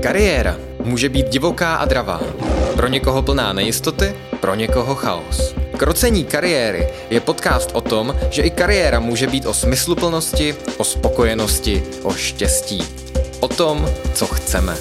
Kariéra může být divoká a dravá. Pro někoho plná nejistoty, pro někoho chaos. Krocení kariéry je podcast o tom, že i kariéra může být o smysluplnosti, o spokojenosti, o štěstí. O tom, co chceme.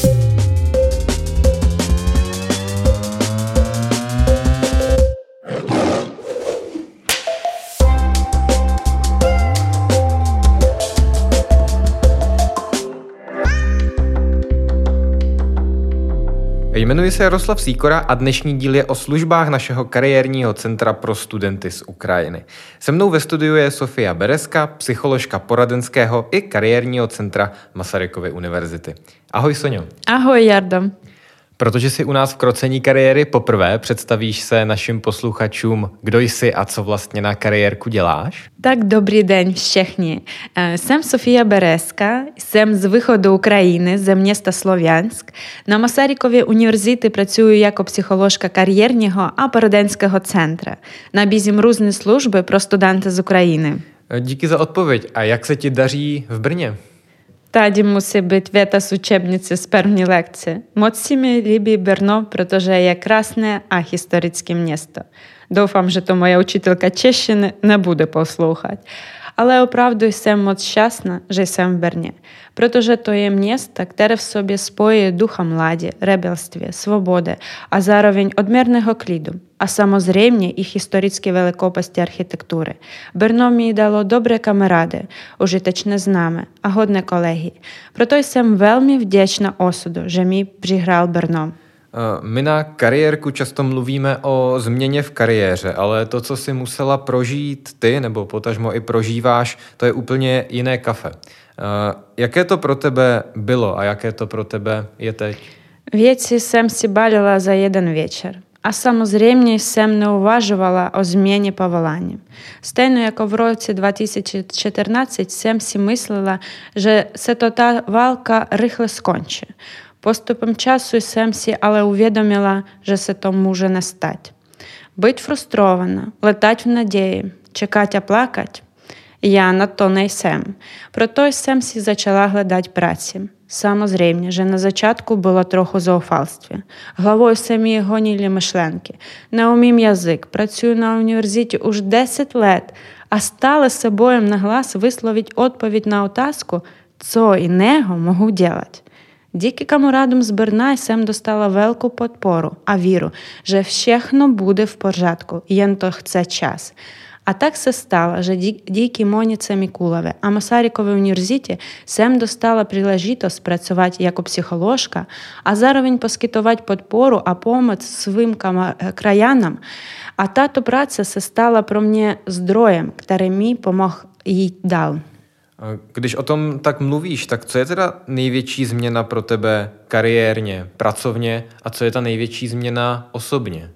Jmenuji se Jaroslav Sýkora a dnešní díl je o službách našeho kariérního centra pro studenty z Ukrajiny. Se mnou ve studiu je Sofia Bereska, psycholožka poradenského i kariérního centra Masarykovy univerzity. Ahoj Soňo. Ahoj Jardo. Protože jsi u nás v krocení kariéry poprvé, představíš se našim posluchačům, kdo jsi a co vlastně na kariérku děláš? Tak dobrý den všichni. Jsem Sofia Bereska, jsem z výchoду України, з міста Слов'янськ. На Масаріковій університеті працюю як психологка кар'єрного а пораденського центру. Nabízím různé služby pro studenty z України. Díky za odpověď. A jak se ti daří v Brně? Tady musí být věta z učebnice z první lekce. Moc si mi líbí Brno, protože je krásné a historické město. Doufám, že to moja učitelka češtiny nebude poslouchat. Ale opravdu jsem moc šťastná, že jsem v Brně, protože to je město, které v sobě spojí ducha mládí, rebelství, svobody a zároveň odměrného klidu. A samozřejmě i historické velikosti architektury. Brno mi dalo dobré kamarády, užitečné známé a hodné kolegy. Proto jsem velmi vděčná osudu, že mi přihrál Brno. My na kariérku často mluvíme o změně v kariéře, ale to, co si musela prožít ty, nebo potažmo i prožíváš, to je úplně jiné kafe. Jaké to pro tebe bylo a jaké to pro tebe je teď? Věci jsem si balila za jeden večer. A samozřejmě jsem neuvažovala o změně povolání. Stejně jako v roce 2014 jsem si myslela, že se to ta válka rychle skončí. Postupem času jsem si ale uvědomila, že se to může nestát. Být frustrovaná, letat v naději, čekat a plakat. Já na to nejsem. Proto jsem si začala hledat práci. Samozřejmě, že na začátku bylo trochu zoufalství. Hlavou se mi honily myšlenky. Neumím jazyk, pracuji na univerzitě už 10 let a stále se bojím nahlas vyslovit odpověď na otázku, co jiného mohu dělat. Díky kamarádům z Brna jsem dostala velkou podporu a víru, že všechno bude v pořádku, jen to chce čas. A tak se stalo, že díky Monice Mikulové a Masarykově univerzitě jsem dostala příležitost pracovat jako psycholožka a zároveň poskytovat podporu a pomoc svým krajanám. A tato práce se stala pro mě zdrojem, který mi pomohl jít dál. Když o tom tak mluvíš, tak co je teda největší změna pro tebe kariérně, pracovně a co je ta největší změna osobně?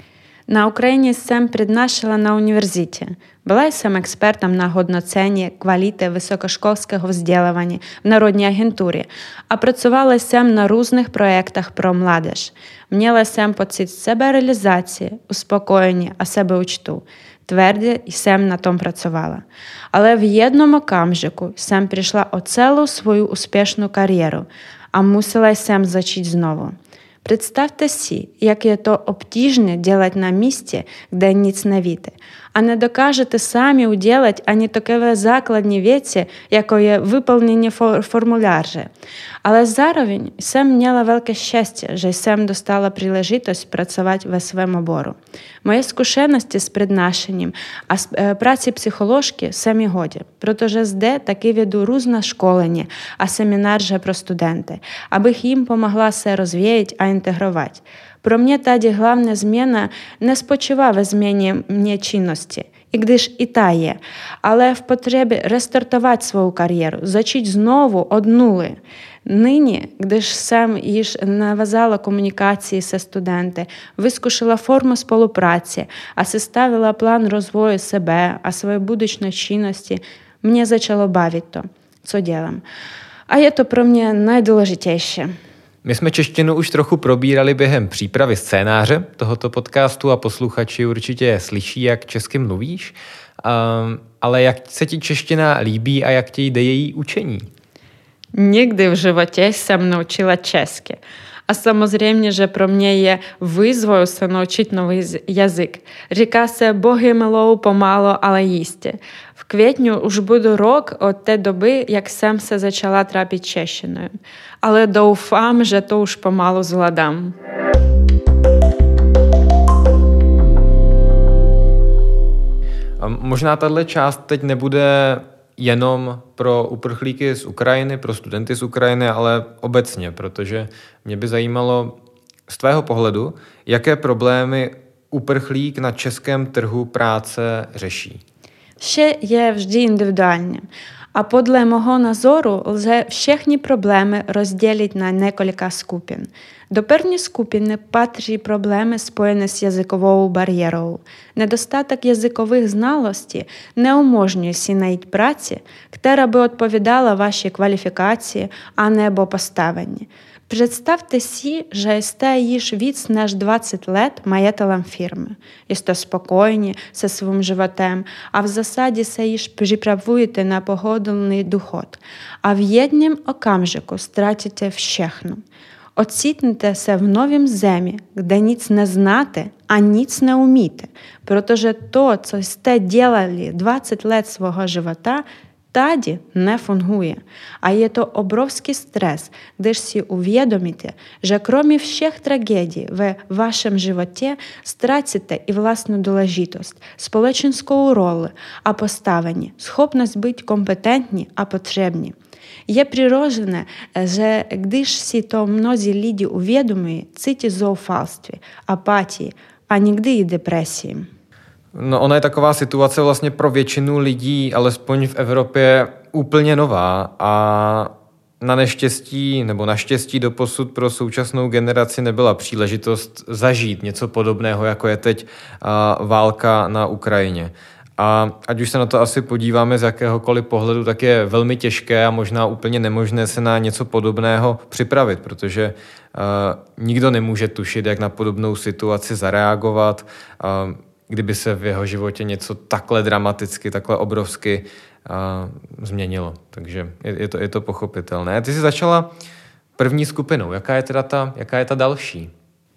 Na Ukrajině jsem přednášela na univerzitě. Byla jsem expertem na hodnocení kvality vysokoškolského vzdělávání v Národní agentuře a pracovala jsem na různých projektech pro mládež. Měla jsem pocit seberealizace, uspokojení a sebeúctu. Tvrdě jsem na tom pracovala. Ale v jednom okamžiku jsem přišla o celou svou úspěšnou kariéru a musela jsem začít znovu. Představte si, jak je to obtížné dělat na místě, kde nic nevíte. A nedokážete sami udělat ani takové základní věci, jako je vyplnění formuláře. Ale zároveň jsem měla velké štěstí, že jsem dostala příležitost pracovat ve svém oboru. Moje zkušenosti s přednášením a prací psycholožky se mi hodí, protože zde taky vedu různé školení a semináře pro studenty, abych jim pomohla se rozvíjet a integrovat. Pro mě tady hlavní změna nespočívá ve změně mě činnosti, i když i ta je, ale v potřebě restartovat svou kariéru, začít znovu od nuly. Nyní, když jsem již navázala komunikaci se studenty, vyzkoušela formu spolupráce a sestavila plán rozvoje sebe a své budoucí činnosti, mě začalo bavit to, co dělám. A je to pro mě nejdůležitější. My jsme češtinu už trochu probírali během přípravy scénáře tohoto podcastu a posluchači určitě slyší, jak česky mluvíš, ale jak se ti čeština líbí a jak ti jde její učení? Nigdy v životě jsem naučila česky. A samozřejmě, že pro mě je výzvou se naučit nový jazyk. Říká se Bohy milou pomalu, ale jistě. V květnu už budu rok od té doby, jak jsem se začala trápit češtinou. Ale doufám, že to už pomalu zvládám. A možná tahle část teď nebude jenom pro uprchlíky z Ukrajiny, pro studenty z Ukrajiny, ale obecně, protože mě by zajímalo z tvého pohledu, jaké problémy uprchlík na českém trhu práce řeší. Vše je vždy individuálně. A podle mého názoru lze všechny problémy rozdělit na několika skupin. Do první skupiny patří problémy spojené s jazykovou bariérou. Nedostatek jazykových znalostí neumožňuje si najít práci, která by odpovídala vaší kvalifikaci a nebo postavení. Představte si, že jste již víc než 20 let majitelem firmy. Jste spokojeni se svým životem a v zásadě se již připravujete na pohodlný důchod. A v jednom okamžiku ztratíte všechno. Ocitnete se v novém zemi, kde nic neznáte a nic neumíte, protože to, co jste dělali 20 let svého života, tady nefunguje. A je to obrovský stres, když si uvědomíte, že kromě všech tragédií ve vašem životě ztratíte i vlastní důležitost, společenskou roli a postavení, schopnost být kompetentní a potřební. Je přirozené, že když si to mnozí lidi uvědomují, cítí zoufalství, apatii a někdy i depresii. No, ona je taková situace vlastně pro většinu lidí, alespoň v Evropě, úplně nová a na neštěstí nebo naštěstí doposud pro současnou generaci nebyla příležitost zažít něco podobného, jako je teď válka na Ukrajině. A ať už se na to asi podíváme z jakéhokoliv pohledu, tak je velmi těžké a možná úplně nemožné se na něco podobného připravit, protože nikdo nemůže tušit, jak na podobnou situaci zareagovat, kdyby se v jeho životě něco takhle dramaticky, takhle obrovsky změnilo. Takže je to pochopitelné. Ty jsi začala první skupinou. Jaká je ta další?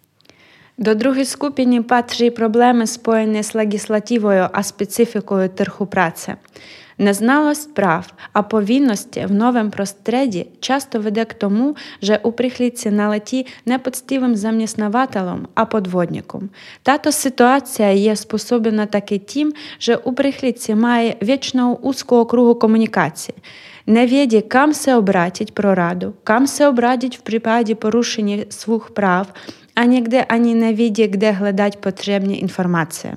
До другої skupiny patří problémy spojené s legislativою a specifikою trhu práce. Neznalost práv a povinnosti v novém prostředí často vede k tomu, že uprchlíci naletí nepoctivým zaměstnavatelům a podvodníkům. Tato situace je způsobena také tím, že uprchlíci mají většinou úzkou okruhu komunikaci. Nevědí, kam se obrátit pro radu, kam se obrátit v případě porušení svých práv a někde ani nevědí, kde hledat potřebné informace.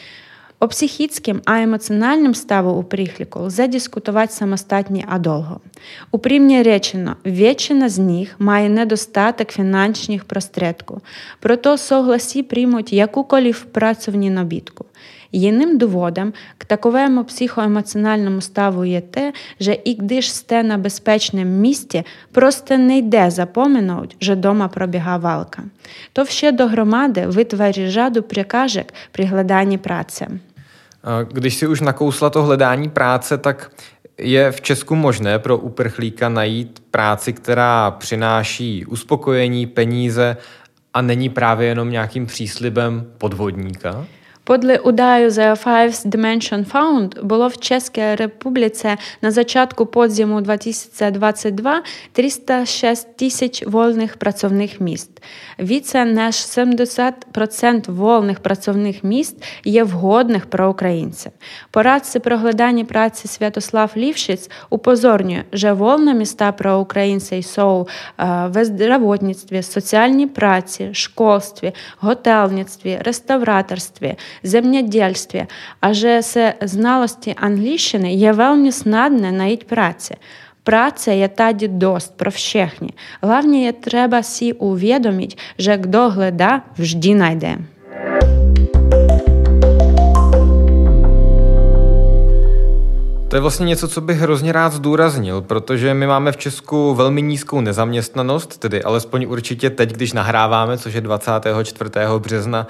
O psychickém a emocjonálním stavu uprchlíků lze diskutovat samostatně a dlouho. Upřímně řečeno, většina z nich mají nedostatek finančních prostředků, proto souhlasí přijmout jakoukoliv pracovní nabídku. Jiným důvodem k takovému psychoemocjonálnímu stavu je те, že i když jste na bezpečném místě, prostě nejde zapomenout, že doma probíhá válka. To vše dohromady vytvoří řadu překážek při hledání práce. Když si už nakousla to hledání práce, tak je v Česku možné pro uprchlíka najít práci, která přináší uspokojení, peníze a není právě jenom nějakým příslibem podvodníka? Podle údajů The Five Dimension Fund bylo v České republice na začátku podzimu 2022 306 000 volných pracovních míst. Více než 70% volných pracovních míst je vhodných pro Ukrajince. Poradce pro hledání práci Святослав Лівшиц upozorňuje, že volné místa pro Ukrajince jsou ve zdravotnictví, sociální práci, školství, hotelnictví, restaurátorství, zemědělství a že se znalosti angličtiny je velmi snadné najít práci. Práce je tady dost pro všechny. Hlavně je třeba si uvědomit, že kdo hledá, vždy najde. To je vlastně něco, co bych hrozně rád zdůraznil, protože my máme v Česku velmi nízkou nezaměstnanost, tedy alespoň určitě teď, když nahráváme, což je 24. března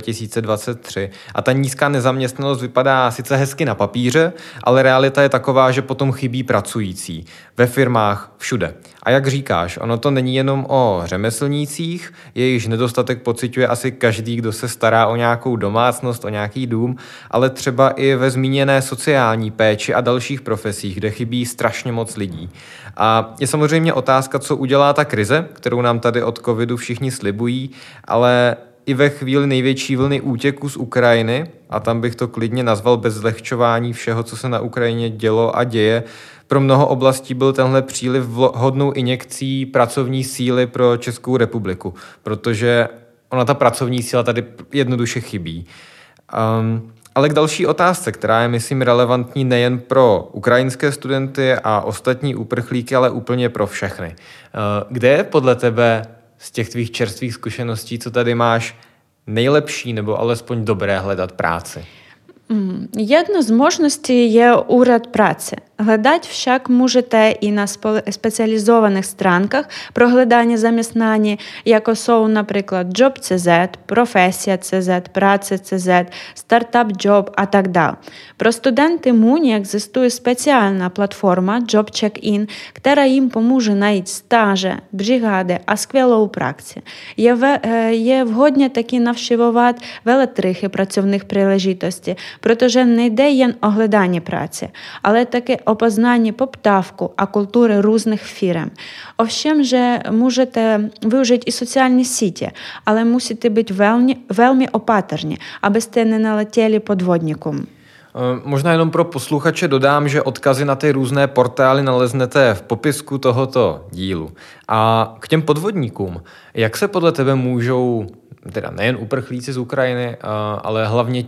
2023. A ta nízká nezaměstnanost vypadá sice hezky na papíře, ale realita je taková, že potom chybí pracující. Ve firmách, všude. A jak říkáš, ono to není jenom o řemeslnících, jejichž nedostatek pociťuje asi každý, kdo se stará o nějakou domácnost, o nějaký dům, ale třeba i ve zmíněné sociální péči a dalších profesích, kde chybí strašně moc lidí. A je samozřejmě otázka, co udělá ta krize, kterou nám tady od covidu všichni slibují, ale i ve chvíli největší vlny útěku z Ukrajiny, a tam bych to klidně nazval bez zlehčování všeho, co se na Ukrajině dělo a děje, pro mnoho oblastí byl tenhle příliv vhodnou injekcí pracovní síly pro Českou republiku, protože ona ta pracovní síla tady jednoduše chybí. Ale k další otázce, která je, myslím, relevantní nejen pro ukrajinské studenty a ostatní uprchlíky, ale úplně pro všechny. Kde je podle tebe z těch tvých čerstvých zkušeností, co tady máš, nejlepší nebo alespoň dobré hledat práci? Jedno з можливостей є уряд праці. Глядать však можете і на спеціалізованих странках проглядання заміснання, як jsou, наприклад, Job.cz, Profesія.cz, Праця.cz, Startup.job a tak dále. Pro studenty MUNI existuje specjalna platforma Job Check-in, która im pomůže najít stáže, brigady a skvělou praxi. Je vhodně taky navštěvovat veletrhy pracovních příležitostí, protože nejde jen o hledání práce, ale také o poznání poptávku a kultury různých firm. Ovšem, že můžete využít i sociální sítě, ale musíte být velmi opatrní, abyste nenaletěli podvodníkům. Možná jenom pro posluchače dodám, že odkazy na ty různé portály naleznete v popisku tohoto dílu. A k těm podvodníkům, jak se podle tebe můžou, teda nejen uprchlíci z Ukrajiny, ale hlavně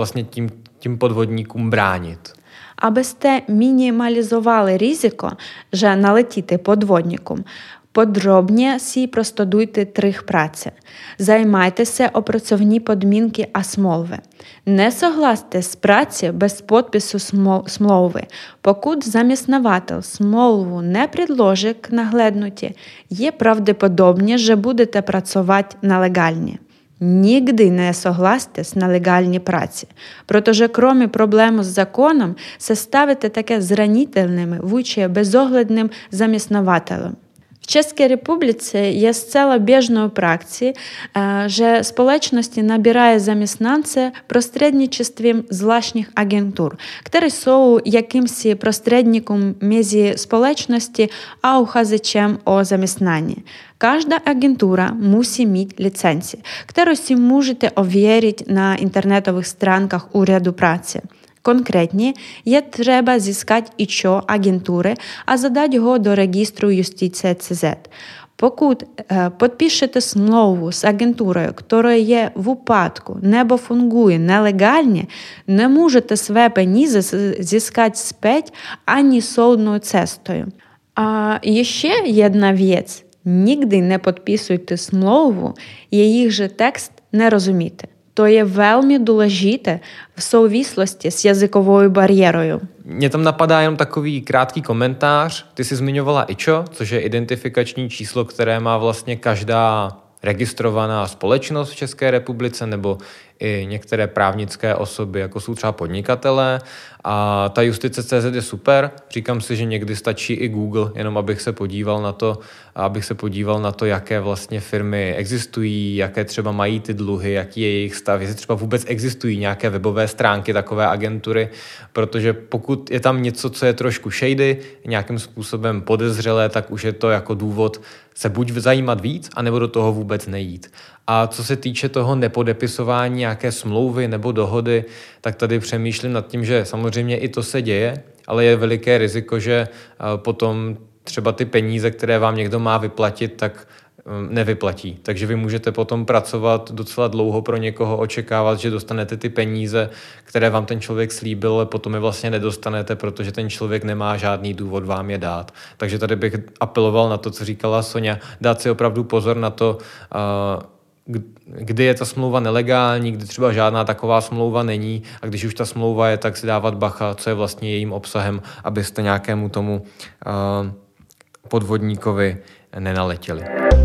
tím podvodníkům bránit? Abyste minimalizovali riziko, že naletíte podvodníkům, podrobně si prostudujte trh práce. Займайтеся o pracovní podmínky a smlouvy. Nesouhlaste s prací bez podpisu smlouvy. Pokud zaměstnavatel smlouvu nepředloží k nahlédnutí, je pravděpodobně, že budete pracovat nelegálně. Nigdy не согласьте з нелегальній праці, protože kromě problému s zákonem se ставите také zranitelnými vůči bezohledným zaměstnavatelům. V České republice je zcela běžnou praxí, že společnosti nabírají zaměstnance prostřednictvím zvláštních agentur, které jsou jakýmsi prostředníkem mezi společností a uchazečem o zaměstnání. Každá agentura musí mít licenci, kterou si můžete ověřit na internetových stránkách Úřadu práce. Konkrétně je třeba získat IČO agentury a zadat ho do registru Justice.cz. Pokud podpíšete smlouvu s agenturою, která je v úpadku nebo funguje nelegálně, nemůžete své peníze získat zpět ani soudnou cestou. A ještě jedna věc. Nikdy nepodpisujte smlouvu, jejíž text nerozumíte. To je velmi důležité v souvislosti s jazykovou bariérou. Mně tam napadá jenom takový krátký komentář. Ty jsi zmiňovala IČO, což je identifikační číslo, které má vlastně každá registrovaná společnost v České republice nebo i některé právnické osoby, jako jsou třeba podnikatelé. A ta Justice.cz je super. Říkám si, že někdy stačí i Google, jenom abych se podíval na to, jaké vlastně firmy existují, jaké třeba mají ty dluhy, jaký je jejich stav, jestli třeba vůbec existují nějaké webové stránky takové agentury, protože pokud je tam něco, co je trošku shady, nějakým způsobem podezřelé, tak už je to jako důvod se buď zajímat víc, anebo do toho vůbec nejít. A co se týče toho nepodepisování nějaké smlouvy nebo dohody, tak tady přemýšlím nad tím, že samozřejmě i to se děje, ale je veliké riziko, že potom třeba ty peníze, které vám někdo má vyplatit, tak nevyplatí. Takže vy můžete potom pracovat docela dlouho pro někoho, očekávat, že dostanete ty peníze, které vám ten člověk slíbil, ale potom je vlastně nedostanete, protože ten člověk nemá žádný důvod vám je dát. Takže tady bych apeloval na to, co říkala Soňa, dát si opravdu pozor na to, kdy je ta smlouva nelegální, kdy třeba žádná taková smlouva není a když už ta smlouva je, tak si dávat bacha, co je vlastně jejím obsahem, abyste nějakému tomu podvodníkovi nenaletěli.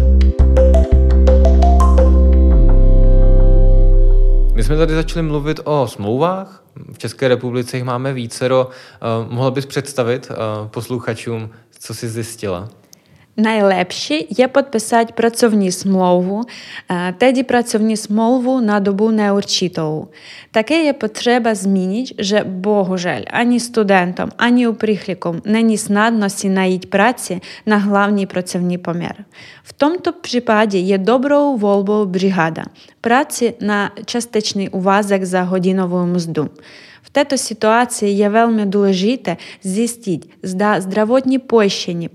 My jsme tady začali mluvit o smlouvách. V České republice jich máme vícero. Mohla bys představit posluchačům, co jsi zjistila? Найlepší je podpisat pracovní smlouvu, tedy pracovní smlouvu na dobu neurčitou. Také je potřeba zmínit, že bohužel ani studentům, ani uprchlíkům není snadno si najít práci na hlavní pracovní poměr. V tomto případě je dobrou volbou brigada, práci na částečný úvazek za hodinovou mzdu. V této situaci je velmi důležité zjistit, zda zdravotní pojištění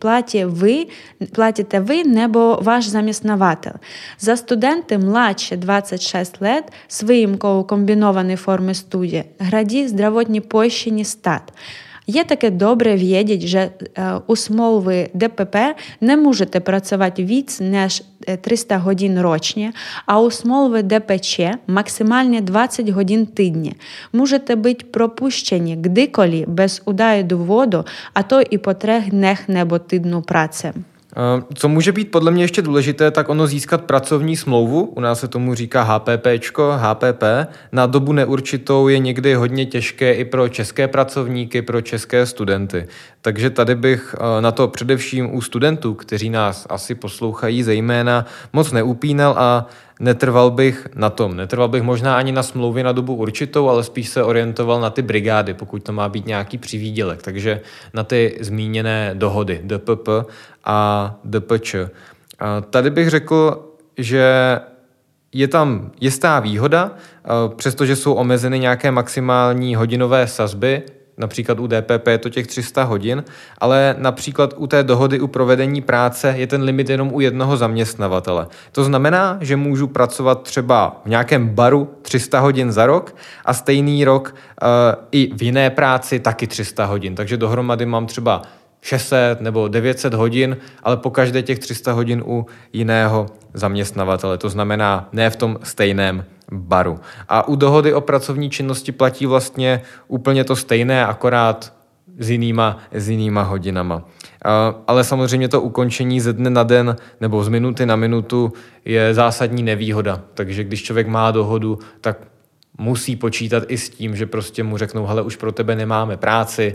platíte vy nebo váš zaměstnavatel. Za studenty mladší 26 let s výjimkou kombinované formy studia hradí zdravotní pojištění stát. Je také добре vědět, že у смолви ДПП не можете працювати víc než 300 hodin ročně a u smlouvy DPČ maximálně 20 hodin týdně. Můžete být propuštěni kdykoliv bez údaje důvodu, a to i po 3 dnech nebo týdnu práce. Co může být podle mě ještě důležité, tak ono získat pracovní smlouvu, u nás se tomu říká HPP, na dobu neurčitou je někdy hodně těžké i pro české pracovníky, pro české studenty. Takže tady bych na to především u studentů, kteří nás asi poslouchají zejména, moc neupínal a netrval bych na tom. Netrval bych možná ani na smlouvě na dobu určitou, ale spíš se orientoval na ty brigády, pokud to má být nějaký přivýdělek. Takže na ty zmíněné dohody DPP a DPČ. Tady bych řekl, že je tam jistá výhoda, přestože jsou omezeny nějaké maximální hodinové sazby, například u DPP je to těch 300 hodin, ale například u té dohody u provedení práce je ten limit jenom u jednoho zaměstnavatele. To znamená, že můžu pracovat třeba v nějakém baru 300 hodin za rok a stejný rok i v jiné práci taky 300 hodin. Takže dohromady mám třeba 600 nebo 900 hodin, ale po každé těch 300 hodin u jiného zaměstnavatele. To znamená ne v tom stejném baru. A u dohody o pracovní činnosti platí vlastně úplně to stejné, akorát s jinýma hodinama. Ale samozřejmě to ukončení ze dne na den nebo z minuty na minutu je zásadní nevýhoda. Takže když člověk má dohodu, tak musí počítat i s tím, že prostě mu řeknou, hele, už pro tebe nemáme práci,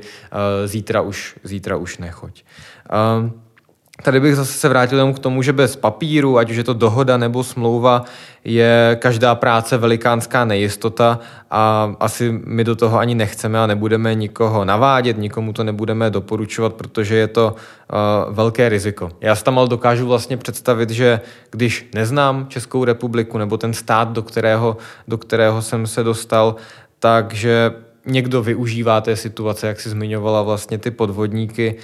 zítra už nechoď. Tady bych zase se vrátil k tomu, že bez papíru, ať už je to dohoda nebo smlouva, je každá práce velikánská nejistota a asi my do toho ani nechceme a nebudeme nikoho navádět, nikomu to nebudeme doporučovat, protože je to velké riziko. Já si tam ale dokážu vlastně představit, že když neznám Českou republiku nebo ten stát, do kterého jsem se dostal, takže někdo využívá té situace, jak si zmiňovala vlastně ty podvodníky,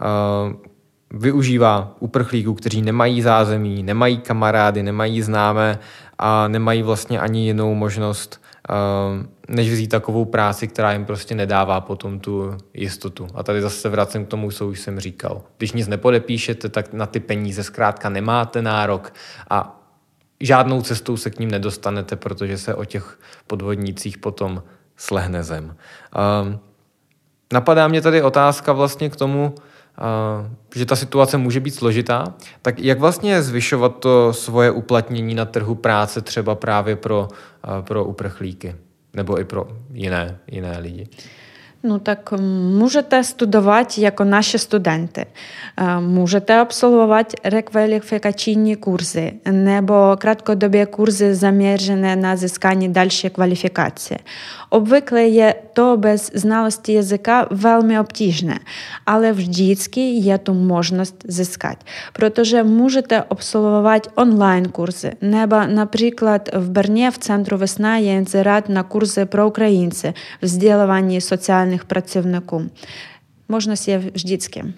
využívá uprchlíků, kteří nemají zázemí, nemají kamarády, nemají známé a nemají vlastně ani jinou možnost, než vzít takovou práci, která jim prostě nedává potom tu jistotu. A tady zase vracím k tomu, co už jsem říkal. Když nic nepodepíšete, tak na ty peníze zkrátka nemáte nárok a žádnou cestou se k ním nedostanete, protože se o těch podvodnících potom slehne zem. Napadá mě tady otázka vlastně k tomu, že ta situace může být složitá, tak jak vlastně zvyšovat to svoje uplatnění na trhu práce třeba právě pro uprchlíky nebo i pro jiné lidi? Ну так можете студувати як наші студенти, можете абсолвувати рекваліфікаційні курси або краткодобі курси, заміжені на зіскання дальшої кваліфікації. Obvykle je to bez znalosti jazyka velmi obtížné, ale vždycky je tu možnost získat, protože můžete absolvovat online kurzy, nebo například v Brně v Centru Весна je inzerát na kurzy pro Ukrajince, vzdělávání sociálních pracovníků. Možnost je vždycky.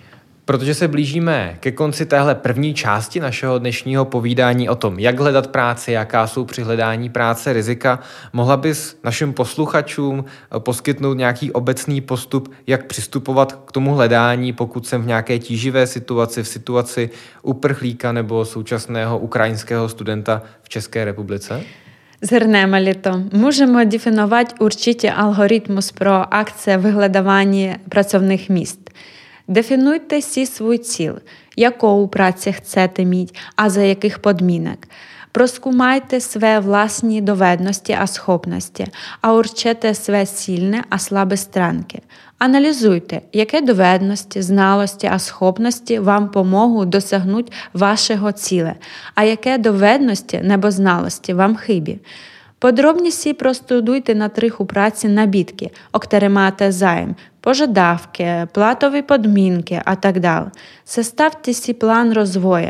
Protože se blížíme ke konci téhle první části našeho dnešního povídání o tom, jak hledat práci, jaká jsou při hledání práce rizika, mohla bys našim posluchačům poskytnout nějaký obecný postup, jak přistupovat k tomu hledání, pokud jsem v nějaké tíživé situaci, v situaci uprchlíka nebo současného ukrajinského studenta v České republice? Згорнемо то. Можемо дефінувати урчиті алгоритмус про акції виглядання працівних місць. Дефінуйте свій ціл, яку працю хочете мати, а за яких подмінок. Проскумайте свої власні доведності а схопності, а урчете свої сильні а слабі странки. Аналізуйте, які доведності, знalosті а схопності вам поможуть досягнути вашого ціля, а які доведності небо знalosті вам хибі. Подробніше простудуйте на трих у праці набітки, октеремате займ, пожадавки, платові подмінки, а так далі. Составте сі план розвою.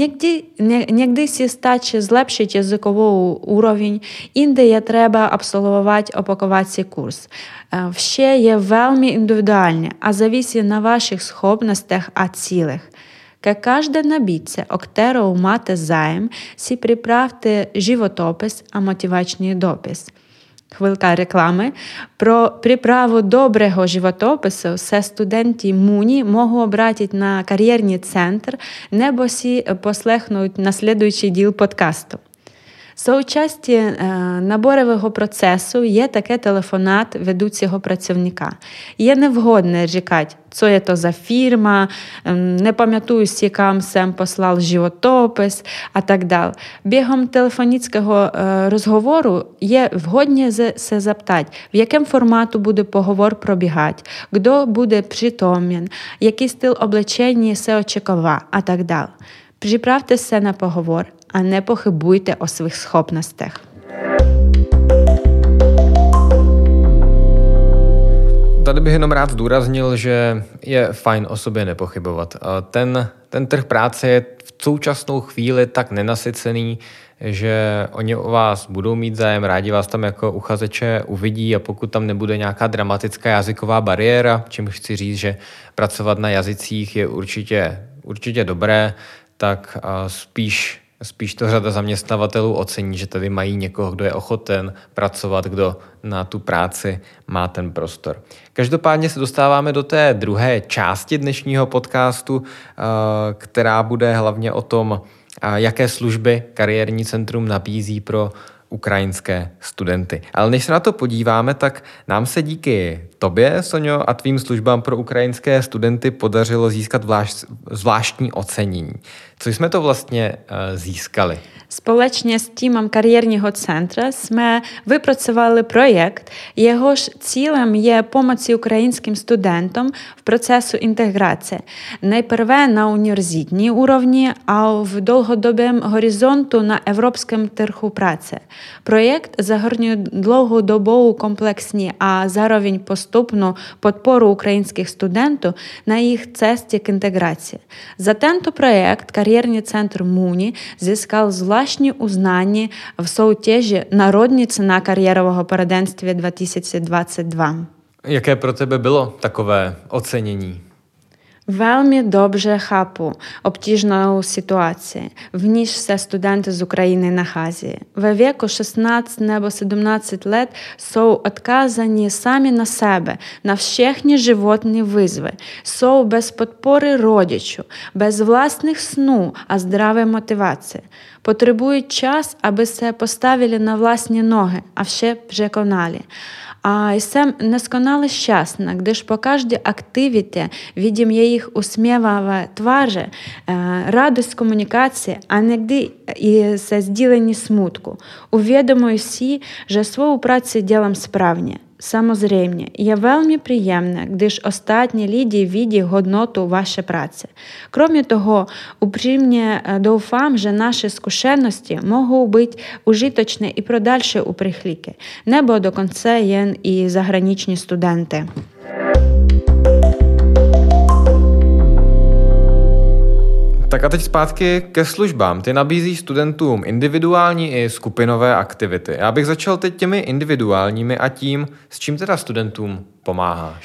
Нігdy сі стачі злепшить язиковий уровень, інде є треба абсолвувати опакувацій курс. Все є вельми індивідуальне, а зависить на ваших схопностях а цілих. Ка кожна набітця, октеру мати займ, сі приправте животопис, а мотиваційний допис. Хвилка реклами. Про приправу доброго животопису все студенти МУНі можуть обратити на кар'єрний центр, небо сі послухають наслідуючий діл подкасту. Соучасті наборового процесу є таке телефонат ведучого працівника. Є невгодне рікати, що є то за фірма, не пам'ятаю, з яким сам послав животопис, а так далі. Бігом телефонічного розговору є вгодне се запитати, в якому формату буде поговор пробігати, хто буде притомен, який стиль облачення се очікува, а так далі. Приправте се на поговор, а не похибуйте о своїх схопностях. Tady bych jenom rád zdůraznil, že je fajn o sobě nepochybovat. Ten trh práce je v současnou chvíli tak nenasycený, že oni o vás budou mít zájem, rádi vás tam jako uchazeče uvidí a pokud tam nebude nějaká dramatická jazyková bariéra, čím chci říct, že pracovat na jazycích je určitě dobré, tak spíš to řada zaměstnavatelů ocení, že tady mají někoho, kdo je ochoten pracovat, kdo na tu práci má ten prostor. Každopádně se dostáváme do té druhé části dnešního podcastu, která bude hlavně o tom, jaké služby kariérní centrum nabízí pro ukrajinské studenty. Ale než se na to podíváme, tak nám se díky tobě, Soňo, a tvým službám pro ukrajinské studenty podařilo získat zvláštní ocenění. Co jsme to vlastně získali? Спolečně з тімом кар'єрного центру ми випрацювали проєкт. Його ж цілем є допомога українським студентам в процесу інтеграції. Найперше на університетній уровні, а в довгодобовому горизонту на європейському ринку праці. Проєкт загорнює довгодобову комплексні, а zároveň поступну підпору українських студентів на їх цесті к інтеграції. За tento проєкт кар'єрний центр МУНі зískal zvláštní uznání v soutěži Národní cena kariérového poradenství 2022. Jaké pro tebe bylo takové ocenění? Velmi dobře chápu obtížnou situaci, v níž se studenti z Ukrajiny nachází. Ve věku 16 nebo 17 let jsou odkázaní sami na sebe, na všechny životní výzvy. Jsou bez podpory rodičů, bez vlastních snů a zdravé motivace. Potřebují čas, aby se postavili na vlastní nohy a vše překonali. A jsem neskonale šťastná, když po každé aktivitě vidím jejich usměvavé tváře, radost komunikace a někdy i se sdílení smutku. Uvědomuji si, že svou práci dělám správně. Samozřejmě, je velmi příjemné, když ostatní lidi vidí hodnotu vaší práce. Kromě toho, upřímně doufám, že naše zkušenosti mohou být užitečné i pro další uprchlíky, nebo dokonce jen i zahraniční studenty. Tak a teď zpátky ke službám. Ty nabízíš studentům individuální i skupinové aktivity. Já bych začal teď těmi individuálními a tím, s čím teda studentům pomáháš.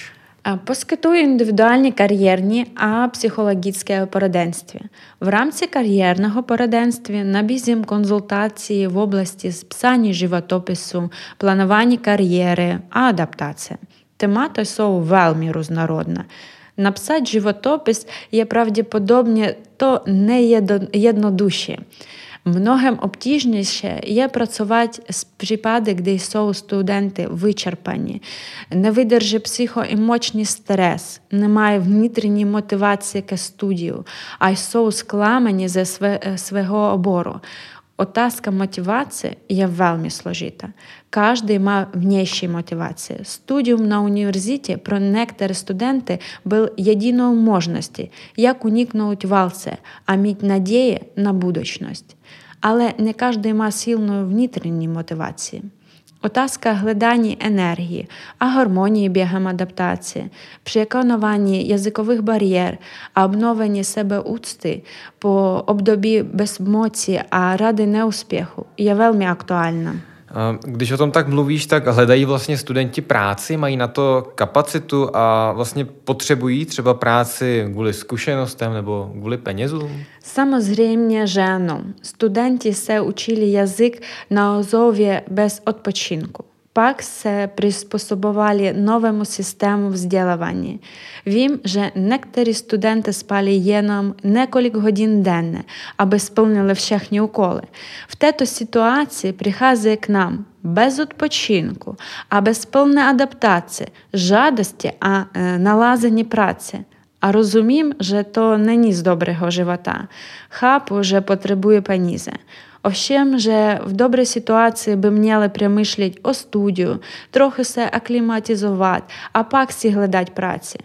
Poskytuє індивідуальні кар'єрні а психологічне пораденство. В рамці кар'єрного пораденства набізім консультації в області списання животопису, планування кар'єри, а адаптація. Темати są вельми різнородна. Написати животопис є правдоподобне, то не єднодуші. Многим обтяжніше є працювати з припади, де są студенти вичерпані, не видержи психоемоційний стрес, немає внутрішньої мотивації к студію, а й są скламані ze свого обору. Otázka motivace je velmi složitá. Každý má vnější motivaci. Studium na univerzitě pro některé studenty byl jedinou možností, jak uniknout válce a mít naději na budoucnost. Ale не každý má silnou vnitřní motivaci. Otázka hledání energie a harmonii během adaptace, překonávání jazykových bariér a obnovení sebeúcty po období bezmoci a rady neúspěchu je velmi aktuální. Když o tom tak mluvíš, tak hledají vlastně studenti práci, mají na to kapacitu a vlastně potřebují třeba práci kvůli zkušenostem nebo kvůli penězům? Samozřejmě, že ano. Studenti se učili jazyk na ozově bez odpočinku. Pak se přizpůsobovali novému systému vzdělávání. Vím, že někteří studenti spali jenom několik hodin denně, aby splnili všechny úkoly. V této situaci přichází k nám bez odpočinku a bez plné adaptace, žádosti a nalazení práce. A rozumím, že to není z dobrého života. Chápu, že potřebuje peníze. Ovšem, že v dobré situaci by měli přemýšlet o studiu, trochu se aklimatizovat a pak si hledat práci.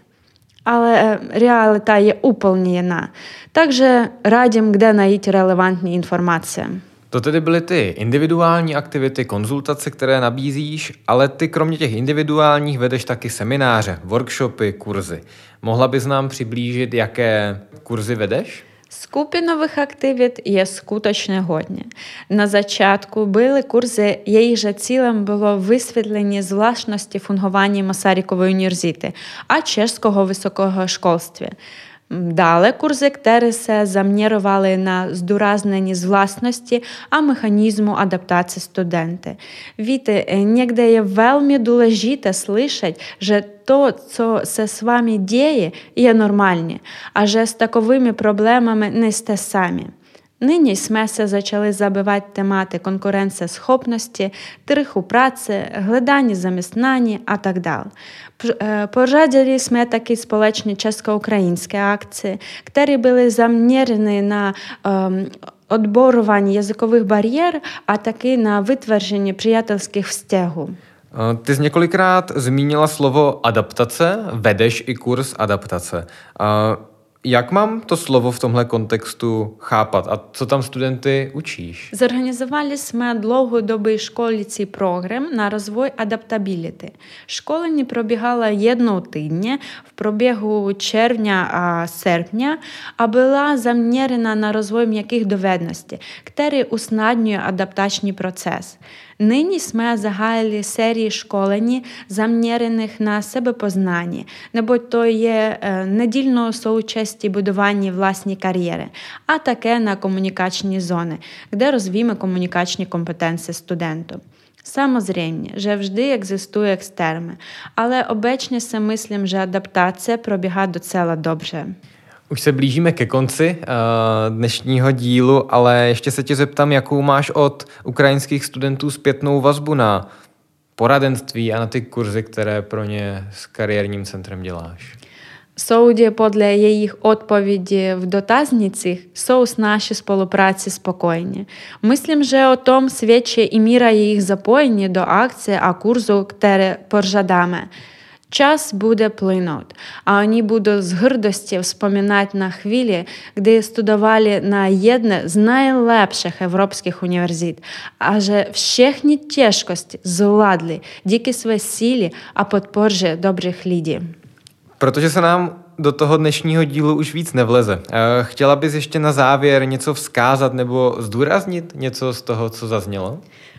Ale realita je úplně jiná. Takže radím, kde najít relevantní informace. To tedy byly ty individuální aktivity, konzultace, které nabízíš, ale ty kromě těch individuálních vedeš taky semináře, workshopy, kurzy. Mohla bys nám přiblížit, jaké kurzy vedeš? Skupinových aktivit je skutečně hodně. Na začátku byly kurzy, jejichž cílem bylo vysvětlení zvláštnosti fungování Masarykovy univerzity a českého vysokého školství. Dále kurzy, které se zaměřovaly na zdůraznění zvláštnosti a mechanismu adaptace studenty. Víte, někde je velmi důležité slyšet, že to, co se s vámi děje, je normální a že s takovými problémami nejste sami. Nyní jsme se začali zabývat tématy konkurenceschopnosti, trhu práce, hledání zaměstnání a tak dále. Pořádali jsme taky společně česko-ukrajinské akce, které byly zaměřeny na odborování jazykových bariér a taky na vytvoření přátelských vztahů. Ty jsi několikrát zmínila slovo adaptace, vedeš i kurz adaptace. Jak mám to slovo v tomhle kontextu chápat a co tam studenty učíš? Zorganizovali jsme dlouhodobý školící program na rozvoj adaptability. Školení probíhalo jednou týdně v průběhu června a srpna a byla zaměřena na rozvoj měkkých dovedností, který usnadňuje adaptační proces. Nyní jsme zahájili sérii školení zaměřených na sebepoznání, neboť to je nedílnou součástí budování vlastní kariéry, a také na komunikační zóny, kde rozvíjíme komunikační kompetence studentů. Samozřejmě, že vždy existují extrémy, ale obecně si myslím, že adaptace probíhá docela dobře. Už se blížíme ke konci dnešního dílu, ale ještě se tě zeptám, jakou máš od ukrajinských studentů zpětnou vazbu na poradenství a na ty kurzy, které pro ně s kariérním centrem děláš. Судя podle jejich odpovědí v dotaznicích, jsou s naší spolupráci spokojeni. Myslím, že o tom svědčí i míra jejich zapojení do akce a kurzu, které pořádáme. Čas bude plynout a oni budou s hrdostí vzpomínat na chvíli, kdy studovali na jedné z nejlepších evropských univerzit a že všechny těžkosti zvládli díky své síle a podpoře dobrých lidí. Protože se nám do toho dnešního dílu už víc nevleze. Chtěla bys ještě na závěr něco vzkázat nebo zdůraznit něco z toho, co zaznělo?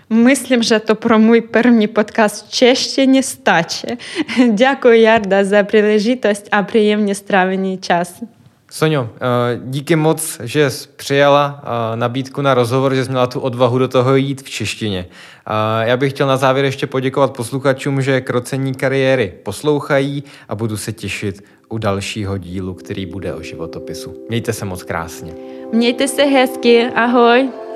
Myslím, že to pro můj první podcast v češtině stačí. Děkuji, Jarda, za příležitost a příjemně strávený čas. Soňo, díky moc, že jsi přijala nabídku na rozhovor, že jsi měla tu odvahu do toho jít v češtině. Já bych chtěl na závěr ještě poděkovat posluchačům, že Krocení kariéry poslouchají a budu se těšit u dalšího dílu, který bude o životopisu. Mějte se moc krásně. Mějte se hezky, ahoj.